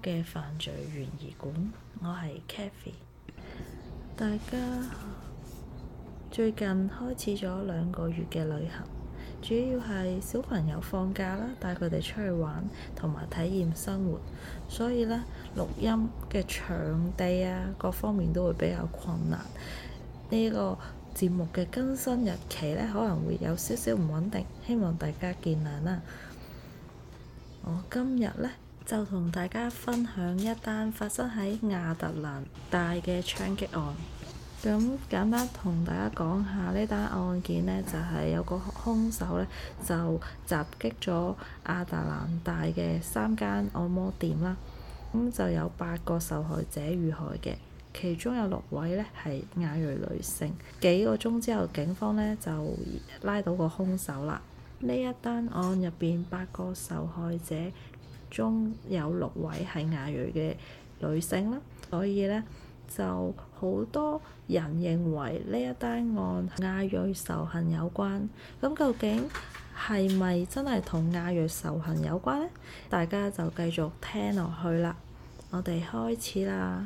嘅犯罪懸疑館，我係 Kathy。大家最近開始咗2個月嘅旅行，主要係小朋友放假啦，帶佢哋出去玩同埋體驗生活，所以呢，錄音嘅場地各方面都會比較困難。呢個節目嘅更新日期呢，可能會有少少唔穩定，希望大家見諒啦。我今日呢，就同大家分享一單發生喺亞特蘭大嘅槍擊案。咁簡單同大家講下呢單案件呢，就係有個兇手呢，就襲擊咗亞特蘭大嘅3間按摩店啦。咁就有8個受害者遇害嘅，其中有6位呢係亞裔女性。幾個鐘之後，警方呢就拉到個兇手啦。呢一單案入邊8個受害者中有6位係亞裔嘅女性啦，所以呢，就好多人認為呢一單案亞裔仇恨有關。咁究竟係咪真係同亞裔仇恨有關呢？大家就繼續聽落去啦。我哋開始啦。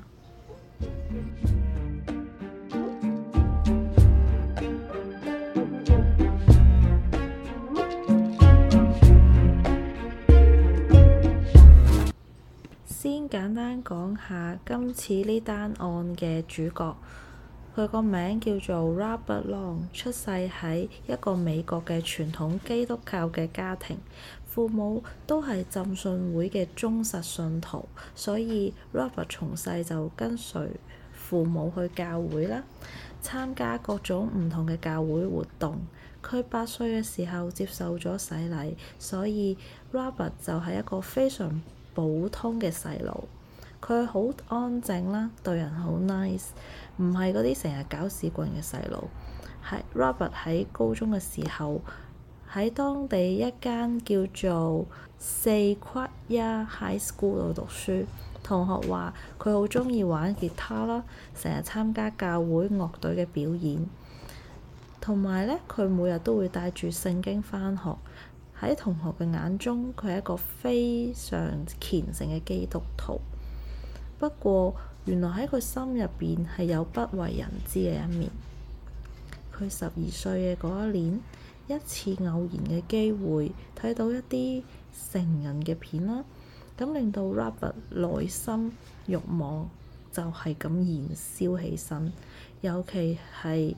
先簡單講下今次呢單案嘅主角，佢個名叫做 Robert Long， 出世喺一個美國嘅傳統基督教嘅家庭，父母都係浸信會嘅忠實信徒，所以 Robert 從細就跟隨父母去教會啦，參加各種唔同嘅教會活動。佢8歲嘅時候接受咗洗禮，所以 Robert 就係一個非常普通嘅細路。佢好安靜啦，對人好 nice， 唔係嗰啲成日搞事棍嘅細路。係 Robert 喺高中嘅時候，喺當地一間叫做 Sequoia High School 度讀書。同學話佢好鍾意玩吉他啦，成日參加教會樂隊嘅表演，同埋呢，佢每日都會帶住聖經返學。喺同學嘅眼中，佢係一個非常虔誠嘅基督徒。不過，原來喺佢心入邊係有不為人知嘅一面。佢12歲嘅嗰一年，一次偶然嘅機會睇到一啲成人嘅片啦，咁令到 Robert 內心慾望就係咁燃燒起身。尤其係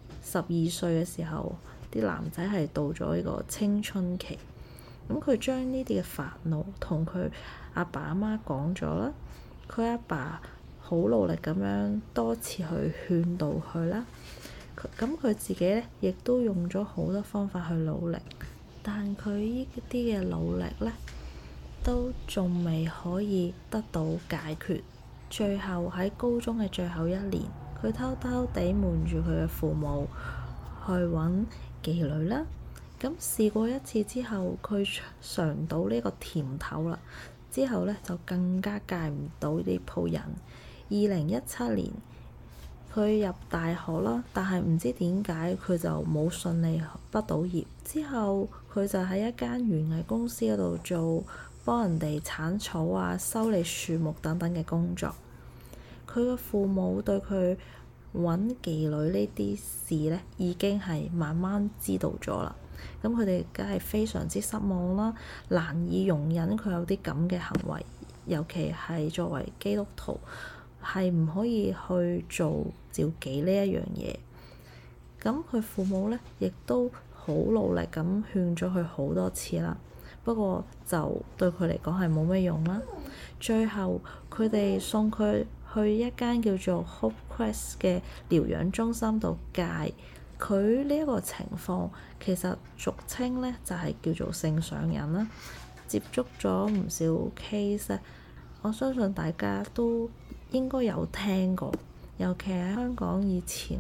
12歲嘅時候，啲男仔係到咗呢個青春期，咁佢將呢啲嘅煩惱同佢阿爸阿媽講咗啦。佢阿爸好努力咁樣多次去勸導佢啦。咁佢自己呢，亦都用咗好多方法去努力，但佢呢啲嘅努力呢，都仲未可以得到解決。最後喺高中嘅最後1年，佢偷偷地瞞住佢嘅父母去揾妓女啦。咁試過一次之後，佢嘗到呢個甜頭啦。之後呢，就更加戒唔到呢鋪癮。2017年，佢入大學啦，但係唔知點解佢就冇順利畢到業。之後佢就喺一間園藝公司嗰度做幫人哋剷草修理樹木等等嘅工作。佢嘅父母對佢揾妓女呢啲事呢，已經係慢慢知道咗啦。咁佢哋梗係非常之失望啦，難以容忍佢有啲咁嘅行為，尤其係作為基督徒，係唔可以去做召妓呢一樣嘢。咁佢父母呢，亦都好努力咁勸咗佢好多次啦，不過就對佢嚟講係冇咩用啦。最後佢哋送佢去一間叫做 Hope Quest 嘅療養中心度戒。佢呢一個情況其實俗稱呢就係叫做性上癮啦。接觸咗唔少 case， 我相信大家都應該有聽過，尤其係香港以前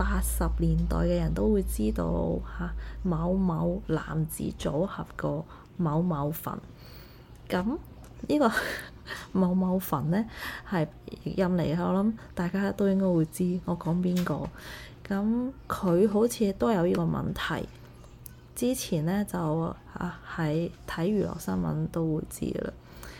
80年代嘅人都會知道某某男子組合個某某墳。咁呢個某某墳呢係印尼，我諗大家都應該會知我講邊個。咁佢好似都有呢個問題，之前呢，就喺睇娛樂新聞都會知啦。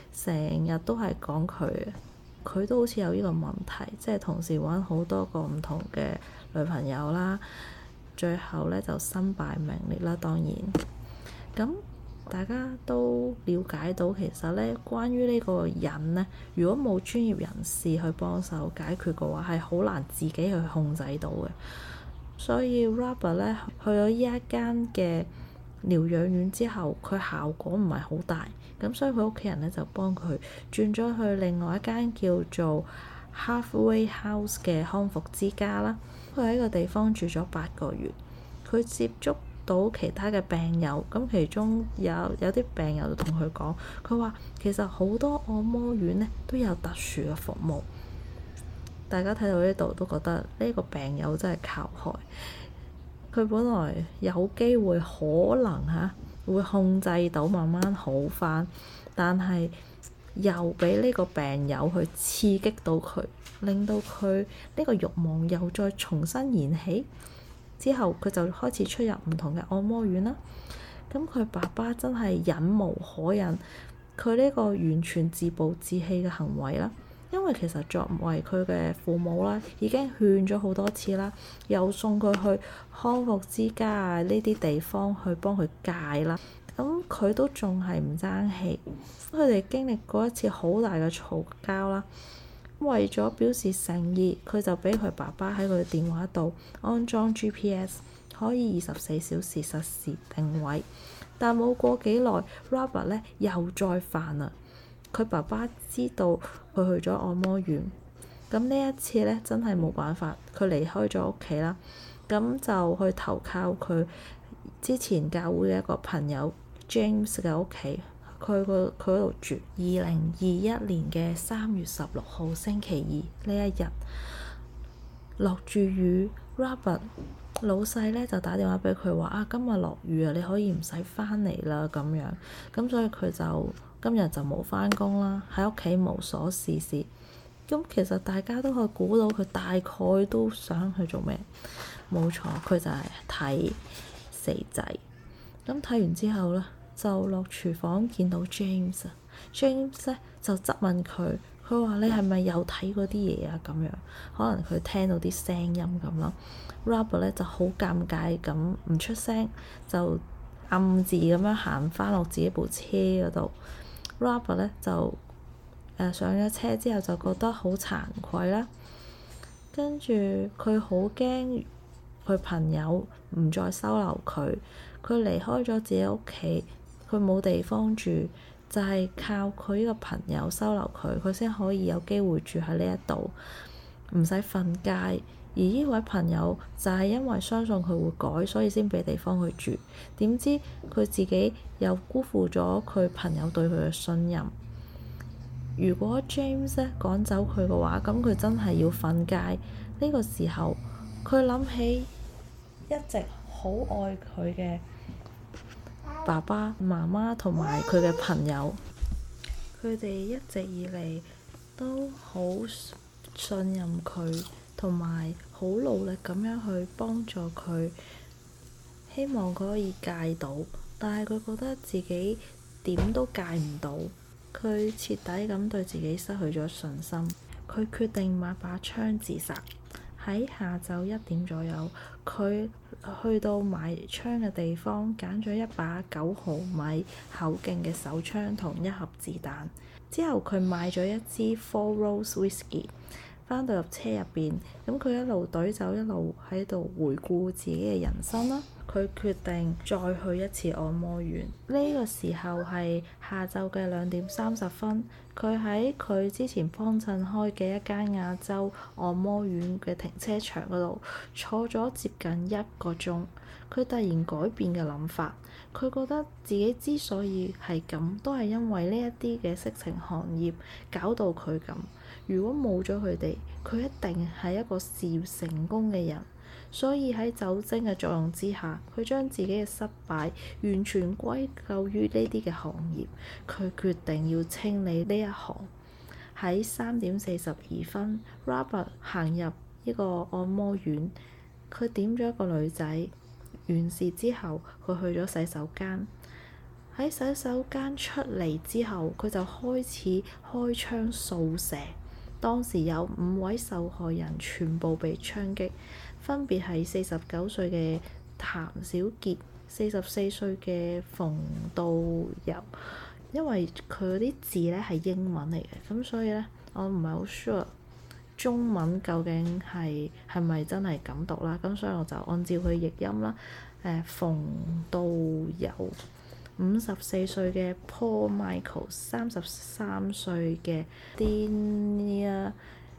成日都係講佢嘅，佢都好似有呢個問題，即係同時揾好多個唔同嘅女朋友啦，最後咧就身敗名裂啦。當然，咁大家都了解到，其實咧關於呢個人咧，如果冇專業人士去幫手解決嘅話，係好難自己去控制到嘅。所以 Robert 咧去咗呢一間嘅療養院之後，佢效果唔係好大，咁所以佢屋企人咧就幫佢轉咗去另外一間叫做 Halfway House 嘅康復之家啦。佢喺個地方住咗8個月，佢接觸到其他嘅病友，咁其中有啲病友就同佢講，佢話其實好多按摩院咧都有特殊嘅服務。大家睇到呢度都覺得呢個病友真係靠害。佢本來有機會可能會控制到慢慢好返，但係又俾呢個病友去刺激到佢，令到佢呢個慾望又再重新燃起。之後佢就開始出入唔同嘅按摩院啦。咁佢爸爸真係忍無可忍，佢呢個完全自暴自棄嘅行為啦。因為其實作為佢嘅父母啦，已經勸咗好多次啦，又送佢去康復之家啊呢啲地方去幫佢戒啦，咁佢都仲係唔爭氣。佢哋經歷過一次好大嘅嘈交啦，為咗表示誠意，佢就俾佢爸爸喺佢電話度安裝 GPS， 可以24小時實時定位。但冇過幾耐 Robert 咧又再犯啦。佢爸爸知道佢去咗按摩院，咁呢一次咧真係冇辦法，佢離開咗屋企啦，咁就去投靠佢之前教會嘅一個朋友 James 嘅屋企，佢嗰度住。2021年嘅3月16號星期二呢一日，落住雨 ，Robert 老細咧就打電話俾佢話今日落雨啊，你可以唔使返嚟啦咁樣，咁所以佢就今日就冇返工啦，喺屋企無所事事。咁其實大家都可以估到佢大概都想去做咩？冇錯，佢就係睇死仔。咁睇完之後咧，就落廚房見到 James 咧就質問佢，佢話你係咪又睇嗰啲嘢啊？咁樣可能佢聽到啲聲音咁咯。Robert 咧就好尷尬咁唔出聲，就暗自咁樣行返落自己部車嗰度。Robert 咧就上咗車之後就覺得好慚愧啦，跟住佢好驚佢朋友唔再收留佢，佢離開咗自己屋企，佢冇地方住，就係靠佢呢個朋友收留佢，佢先可以有機會住喺呢一度，唔使瞓街。而呢位朋友就係因為相信佢會改，所以先俾地方佢住。點知佢自己又辜負咗佢朋友對佢嘅信任。如果 James 咧趕走佢嘅話，咁佢真係要瞓街。呢個時候，佢諗起一直好愛佢嘅爸爸媽媽同埋佢嘅朋友，佢哋一直以嚟都好信任佢，同埋好努力咁樣去幫助佢，希望佢可以戒到，但係佢覺得自己點都戒唔到，佢徹底咁對自己失去咗信心，佢決定買把槍自殺。喺下晝1點左右，佢去到買槍嘅地方，揀咗一把9毫米口徑嘅手槍同1盒子彈。之後佢買咗一支 Four Rose Whisky， 返到入車入邊，咁佢一路隊走一路喺度回顧自己嘅人生啦。佢決定再去一次按摩院。呢個時候係下晝嘅2點30分，佢喺佢之前幫襯開嘅一間亞洲按摩院嘅停車場嗰度坐咗接近1個鐘。佢突然改變嘅諗法，佢覺得自己之所以係咁，都係因為呢一啲嘅色情行業搞到佢咁。如果冇咗佢哋，佢一定係一個事業成功嘅人。所以喺酒精嘅作用之下，佢將自己嘅失敗完全歸咎於呢啲嘅行業。佢決定要清理呢一行。喺3點42分，Robert 行入呢個按摩院，佢點咗一個女仔。完事之後，佢去咗洗手間。 喺洗手間出嚟之後，佢就開始開槍掃射。當時有5位受害人全部被槍擊，分別係49歲嘅譚小傑、44歲嘅馮道友。因為佢嗰啲字咧係英文嚟嘅，咁所以咧我唔係好 sure 中文究竟係咪真係咁讀啦，咁所以我就按照佢譯音啦。馮道友，54歲嘅 Paul Michael，33歲嘅 Dania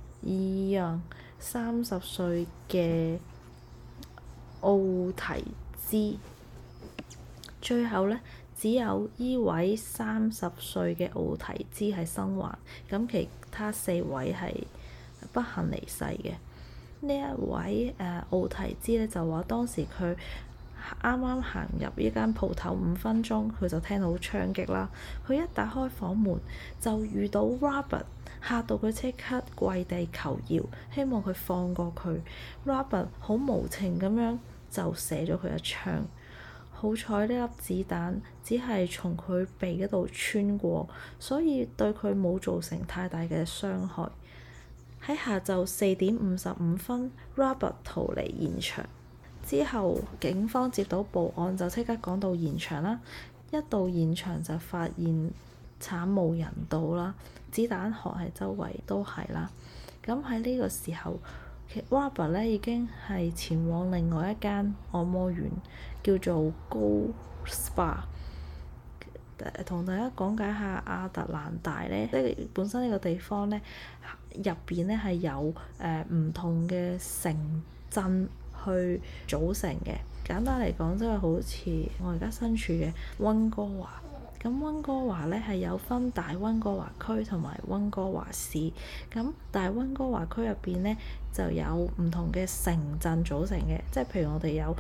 Young，30歲嘅奧提茲。最後咧，只有依位30歲嘅奧提茲係生還，咁其他4位係不幸離世嘅。呢一位奧提茲咧就話當時佢啱啱行入呢間鋪頭5分鐘，佢就聽到槍擊啦。佢一打開房門就遇到 Robert， 嚇到佢即刻跪地求饒，希望佢放過佢。Robert 好無情咁樣就射咗佢一槍。好彩呢粒子彈只係從佢鼻嗰度穿過，所以對佢冇造成太大嘅傷害。喺下晝4點55分，Robert 逃離現場之後，警方接到報案就即刻趕到現場啦。一到現場就發現慘無人道啦，子彈殼係周圍都係啦。咁喺呢個時候，Robert 咧已經係前往另外一間按摩院，叫做 Gold Spa。同大家講解下亞特蘭大咧，即係本身呢個地方咧入邊咧係有唔同嘅城鎮去組成嘅。簡單嚟講，即係好似我而家身處嘅溫哥華。咁溫哥華咧係有分大溫哥華區同埋溫哥華市。咁大溫哥華區入邊咧就有唔同嘅城鎮組成嘅，即係譬如我哋有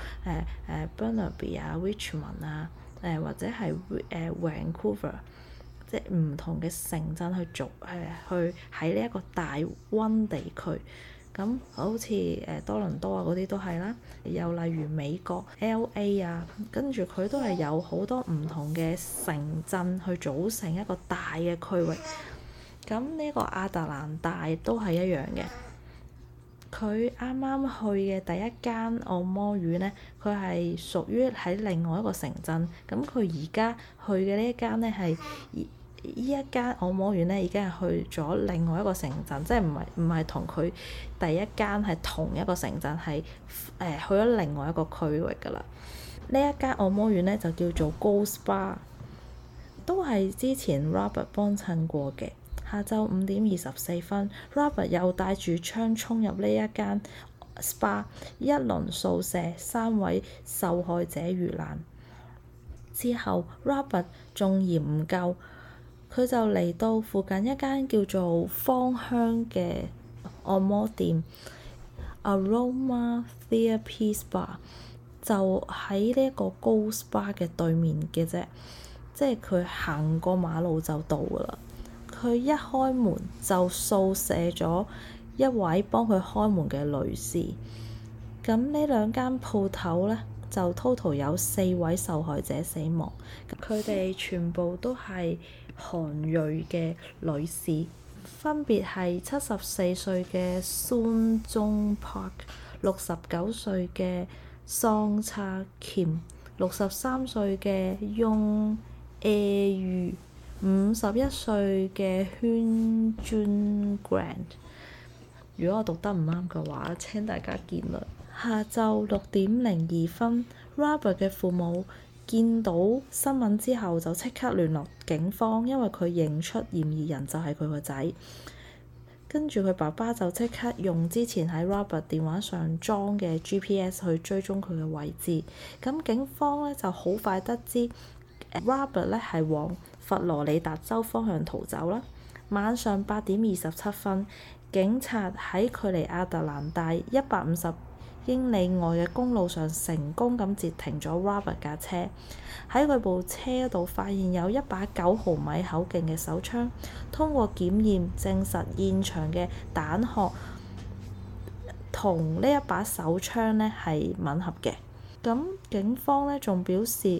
Burnaby 啊、Richmond 啊，或者係Vancouver， 即係唔同嘅城鎮去喺呢一個大溫地區。咁好似多倫多啊嗰啲都係啦，又例如美國 LA 啊，跟住佢都係有好多唔同嘅城鎮去組成一個大嘅區域。咁呢個亞特蘭大都係一樣嘅。佢啱啱去嘅第一間按摩院咧，佢係屬於喺另外一個城鎮。咁佢而家去嘅呢一間咧係呢一間按摩院咧已經係去咗另外一個城鎮，即係唔係同佢第一間係同一個城鎮，係去咗另外一個區域㗎啦。呢一間按摩院咧就叫做 Gold Spa， 都係之前 Robert 幫襯過嘅。下晝5點24分，Robert 又帶住槍衝入呢一間 SPA， 一輪掃射，3位受害者遇難。之後 Robert 仲嫌唔夠，佢就嚟到附近一間叫做芳香嘅按摩店 Aroma Therapy Spa， 就喺呢一個 Gold Spa 嘅對面嘅啫，即係佢行過馬路就到㗎啦。佢一開門就掃射咗一位幫佢開門嘅女士。咁呢兩間鋪頭咧就 total 有4位受害者死亡，佢哋全部都係韓裔嘅女士，分別係74歲嘅孫中柏、69歲嘅桑差謙、63歲嘅雍誒裕、51歲嘅圈尊 Grant。如果我讀得唔啱嘅話，請大家見諒。下晝6點02分，Robert 嘅父母見到新聞之後就即刻聯絡警方，因為佢認出嫌疑人就係佢個仔。跟住佢爸爸就即刻用之前喺 Robert 電話上裝嘅 GPS 去追蹤佢嘅位置。咁警方咧就好快得知Robert 咧係往佛羅里達州方向逃走啦。晚上8點27分，警察喺距離亞特蘭大150英里外嘅公路上成功咁截停咗 Robert 架車。喺佢部車度發現有一把9毫米口徑嘅手槍，通過檢驗證實現場嘅彈殼同呢一把手槍咧係吻合嘅。咁警方咧仲表示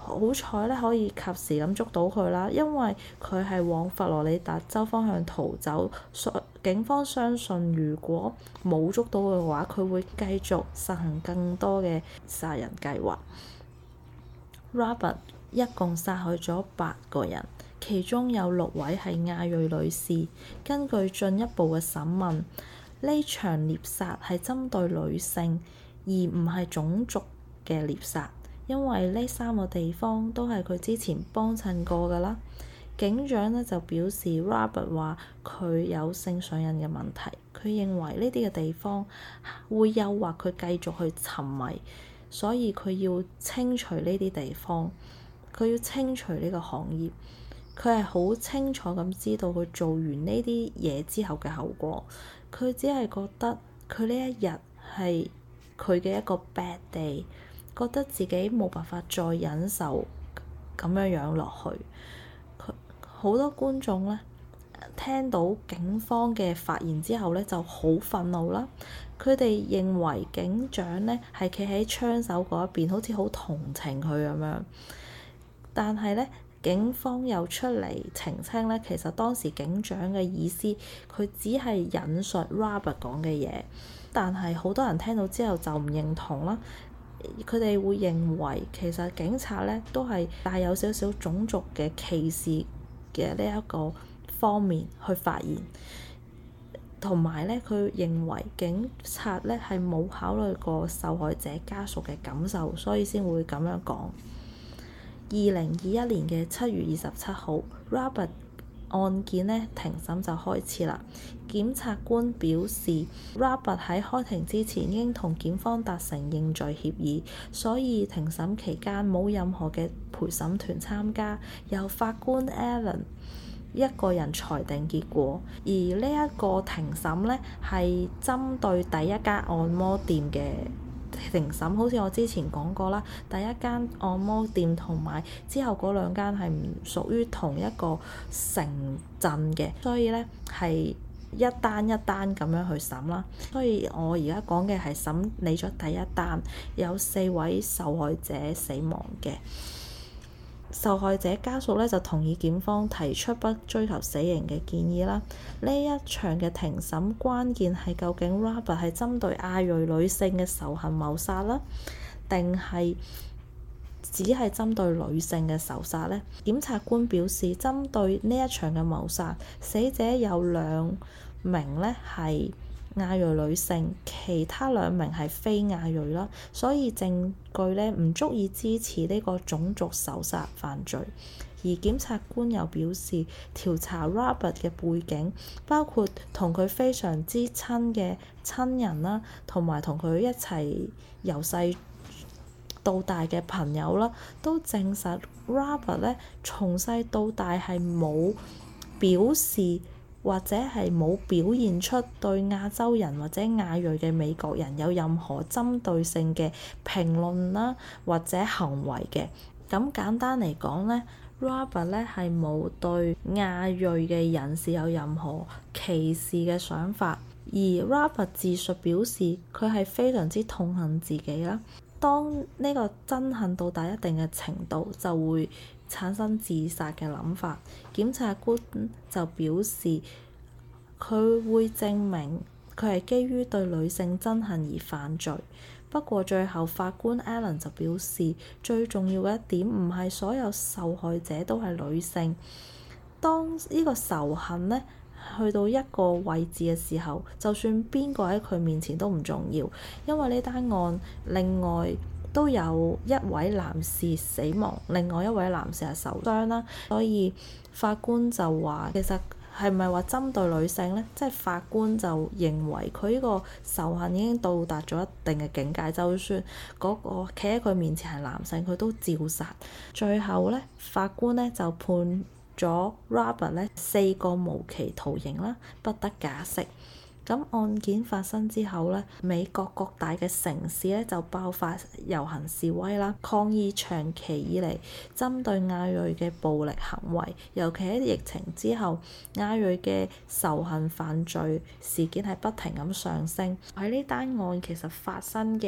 好彩咧可以及時咁捉到佢啦，因為佢係往佛羅里達州方向逃走，警方相信如果冇捉到佢嘅話，佢會繼續實行更多嘅殺人計劃。Robert 一共殺害咗8個人，其中有6位係亞裔女士。根據進一步嘅審問，呢場獵殺係針對女性，而唔係種族嘅獵殺，因為呢3個地方都係佢之前幫襯過㗎啦。警長呢就表示 Robert 話佢有性上癮嘅問題，佢認為呢啲嘅地方會誘惑佢繼續去沉迷，所以佢要清除呢啲地方，佢要清除呢個行業。佢係好清楚咁知道佢做完呢啲嘢之後嘅後果，佢只係覺得佢呢一日係佢嘅一個 bad day， 覺得自己冇辦法再忍受咁樣落去。好多觀眾咧聽到警方嘅發言之後咧就好憤怒啦，佢哋認為警長咧係企喺槍手嗰一邊，好似好同情佢咁樣。但係咧警方又出嚟澄清咧，其實當時警長嘅意思，佢只係引述 Robert 講嘅嘢，但係好多人聽到之後就唔認同啦。佢哋會認為其實警察咧都係帶有少少種族嘅歧視嘅呢一個方面去發言，同埋咧佢認為警察咧係冇考慮過受害者家屬嘅感受，所以先會咁樣講。2021年嘅7月27號 Robert 案件呢庭審就開始啦。檢察官表示 Robert 喺開庭之前已經同檢方達成認罪協議，所以庭審期間冇任何嘅陪審團參加，由法官 Allen 一個人裁定結果。而呢一個庭審呢係針對第一間按摩店嘅庭審，好似我之前講過啦，第一間按摩店同埋之後嗰2間係唔屬於同一個城鎮嘅，所以呢係一單一單咁樣去審啦。所以我而家講嘅係審理咗第一單，有4位受害者死亡嘅。受害者家屬咧就同意檢方提出不追求死刑嘅建議啦。呢一場嘅庭審關鍵係究竟 Robert 係針對亞裔女性嘅仇恨謀殺啦，定係只係針對女性嘅仇殺呢？檢察官表示，針對呢一場嘅謀殺，死者有2名呢係亞裔女性，其他2名係非亞裔啦，所以證據呢唔足以支持呢個種族仇殺犯罪。而檢察官又表示，調查 Robert 嘅背景，包括同佢非常之親嘅親人啦，同埋同佢一齊由細到大嘅朋友啦，都證實 Robert 呢從細到大係冇表示或者係冇表現出對亞洲人或者亞裔嘅美國人有任何針對性嘅評論啦，或者行為嘅。咁簡單嚟講呢， Robert 呢係冇對亞裔嘅人士有任何歧視嘅想法，而 Robert 自述表示佢係非常之痛恨自己啦。當呢個憎恨到達一定嘅程度，就會產生自殺嘅諗法。檢察官就表示佢會證明佢係基於對女性憎恨而犯罪。不過最後法官 Allen 就表示，最重要嘅一點唔係所有受害者都係女性。當呢個仇恨呢去到一個位置嘅時候，就算邊個喺佢面前都唔重要，因為呢單案另外都有1位男士死亡，另外1位男士係受傷啦，所以法官就話其實係咪話針對女性呢？即係法官就認為佢呢個仇恨已經到達咗一定嘅境界，就算嗰個企喺佢面前係男性，佢都照殺。最後呢，法官呢就判咗 Robert 呢4個無期徒刑啦，不得假釋。咁案件發生之後呢，美國各大嘅城市呢就爆發遊行示威啦，抗議長期以嚟針對亞裔嘅暴力行為，尤其喺疫情之後，亞裔嘅仇恨犯罪事件係不停咁上升。喺呢單案其實發生嘅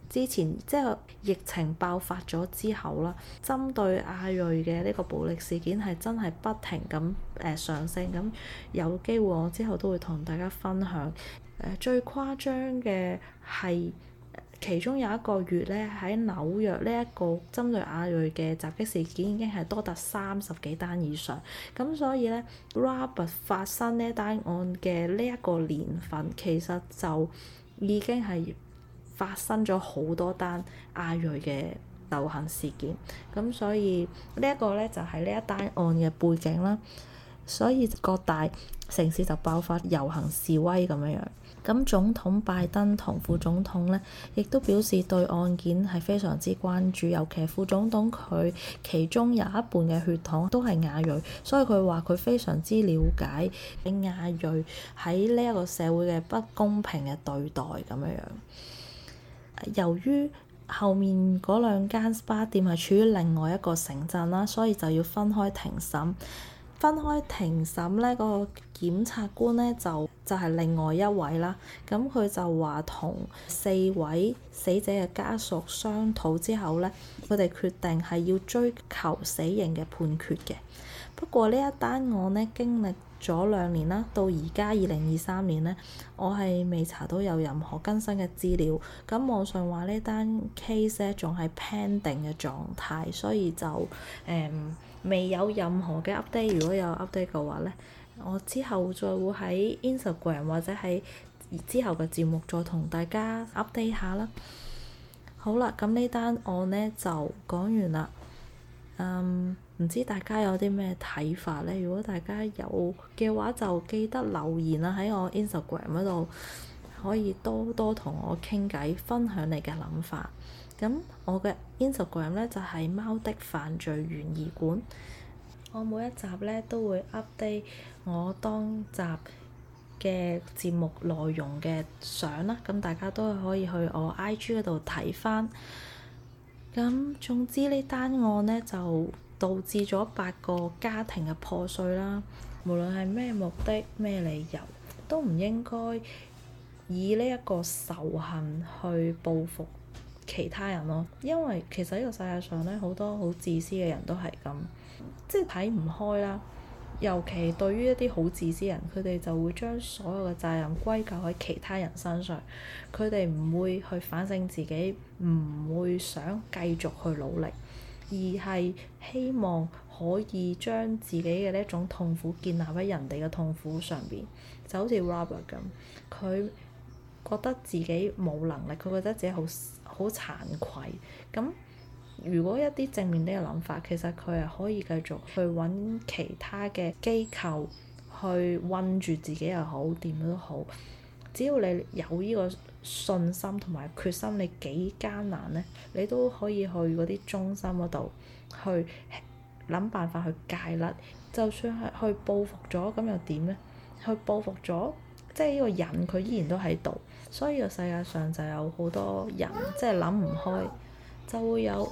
之前即係疫情爆發咗之後啦，針對亞裔嘅呢個暴力事件係真係不停咁上升。咁有機會我之後都會同大家分享。最誇張嘅係其中有一個月咧，喺紐約呢一個針對亞裔嘅襲擊事件已經係多達30幾單以上。咁所以咧，Robert 發生呢單案嘅呢一個年份，其實就已經係發生咗好多單亞裔嘅遊行事件。咁所以呢一個咧就係呢一單案嘅背景啦。所以各大城市就爆發遊行示威咁樣樣。咁總統拜登同副總統咧，亦都表示對案件係非常之關注，尤其係副總統佢其中有一半嘅血統都係亞裔，所以佢話佢非常之了解亞裔喺呢一個社會嘅不公平嘅對待咁樣樣。由於後面嗰兩間 SPA 店係處於另外一個城鎮啦，所以就要分開庭審。分開庭審咧，嗰個檢察官咧就係另外一位啦。咁佢就話同4位死者嘅家屬商討之後咧，佢哋決定係要追求死刑嘅判決嘅。不過呢一單案咧經歷咗2年啦，到而家2023年咧，我係未查到有任何更新嘅資料。咁網上話呢單 case 咧仲係 pending 嘅狀態，所以就未有任何嘅 update。如果有 update 嘅話咧，我之後再會喺 Instagram 或者喺之後嘅節目再同大家 update 下啦。好啦，咁呢單案咧就講完啦。唔知大家有啲咩睇法咧？如果大家有嘅話，就記得留言啦，喺我 Instagram 嗰度可以多多同我傾偈，分享你嘅諗法。咁我嘅 Instagram 咧就係貓的犯罪懸疑館。我每一集咧都會 update 我當集嘅節目內容嘅相啦，咁大家都可以去我 IG 嗰度睇返。咁總之呢單案咧就導致咗8個家庭嘅破碎啦。無論係咩目的、咩理由，都唔應該以呢一個仇恨去報復其他人咯。因為其實呢個世界上咧好多好自私嘅人都係咁，即係睇唔開啦。尤其對於一啲好自私人，佢哋就會將所有嘅責任歸咎喺其他人身上，佢哋唔會去反省自己，唔會想繼續去努力，而係希望可以將自己嘅呢一種痛苦建立喺人哋嘅痛苦上邊。就好似 Robert 咁，佢覺得自己冇能力，佢覺得自己好慚愧。咁如果一啲正面啲嘅諗法，其實佢係可以繼續去揾其他嘅機構去韞住自己又好，點都好。只要你有呢個信心同埋決心，你幾艱難呢，你都可以去嗰啲中心嗰度去諗辦法去戒甩。就算係去報復咗，咁又點呢？去報復咗，即係呢個人佢依然都喺度。所以個世界上就有好多人即係諗唔開，就會有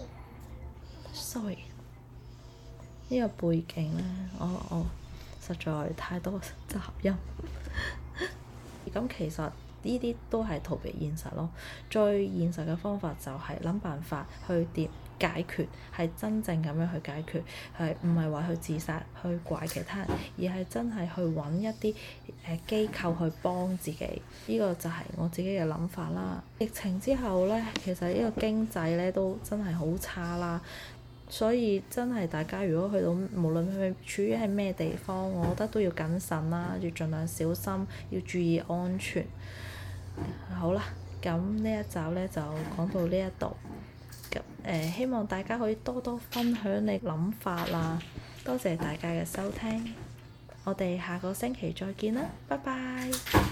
sorry 呢個背景咧，我實在太多雜音。咁其實呢啲都係逃避現實咯。最現實嘅方法就係諗辦法去解決，係真正咁樣去解決，係唔係話去自殺去怪其他人，而係真係去揾一啲機構去幫自己。呢個就係我自己嘅諗法啦。疫情之後咧，其實呢個經濟咧都真係好差啦，所以真係大家如果去到無論佢處於係咩地方，我覺得都要謹慎啦，要盡量小心，要注意安全。好啦，咁呢一集咧就講到呢一度。希望大家可以多多分享你諗法啦。多謝大家嘅收聽，我哋下個星期再見啦，拜拜。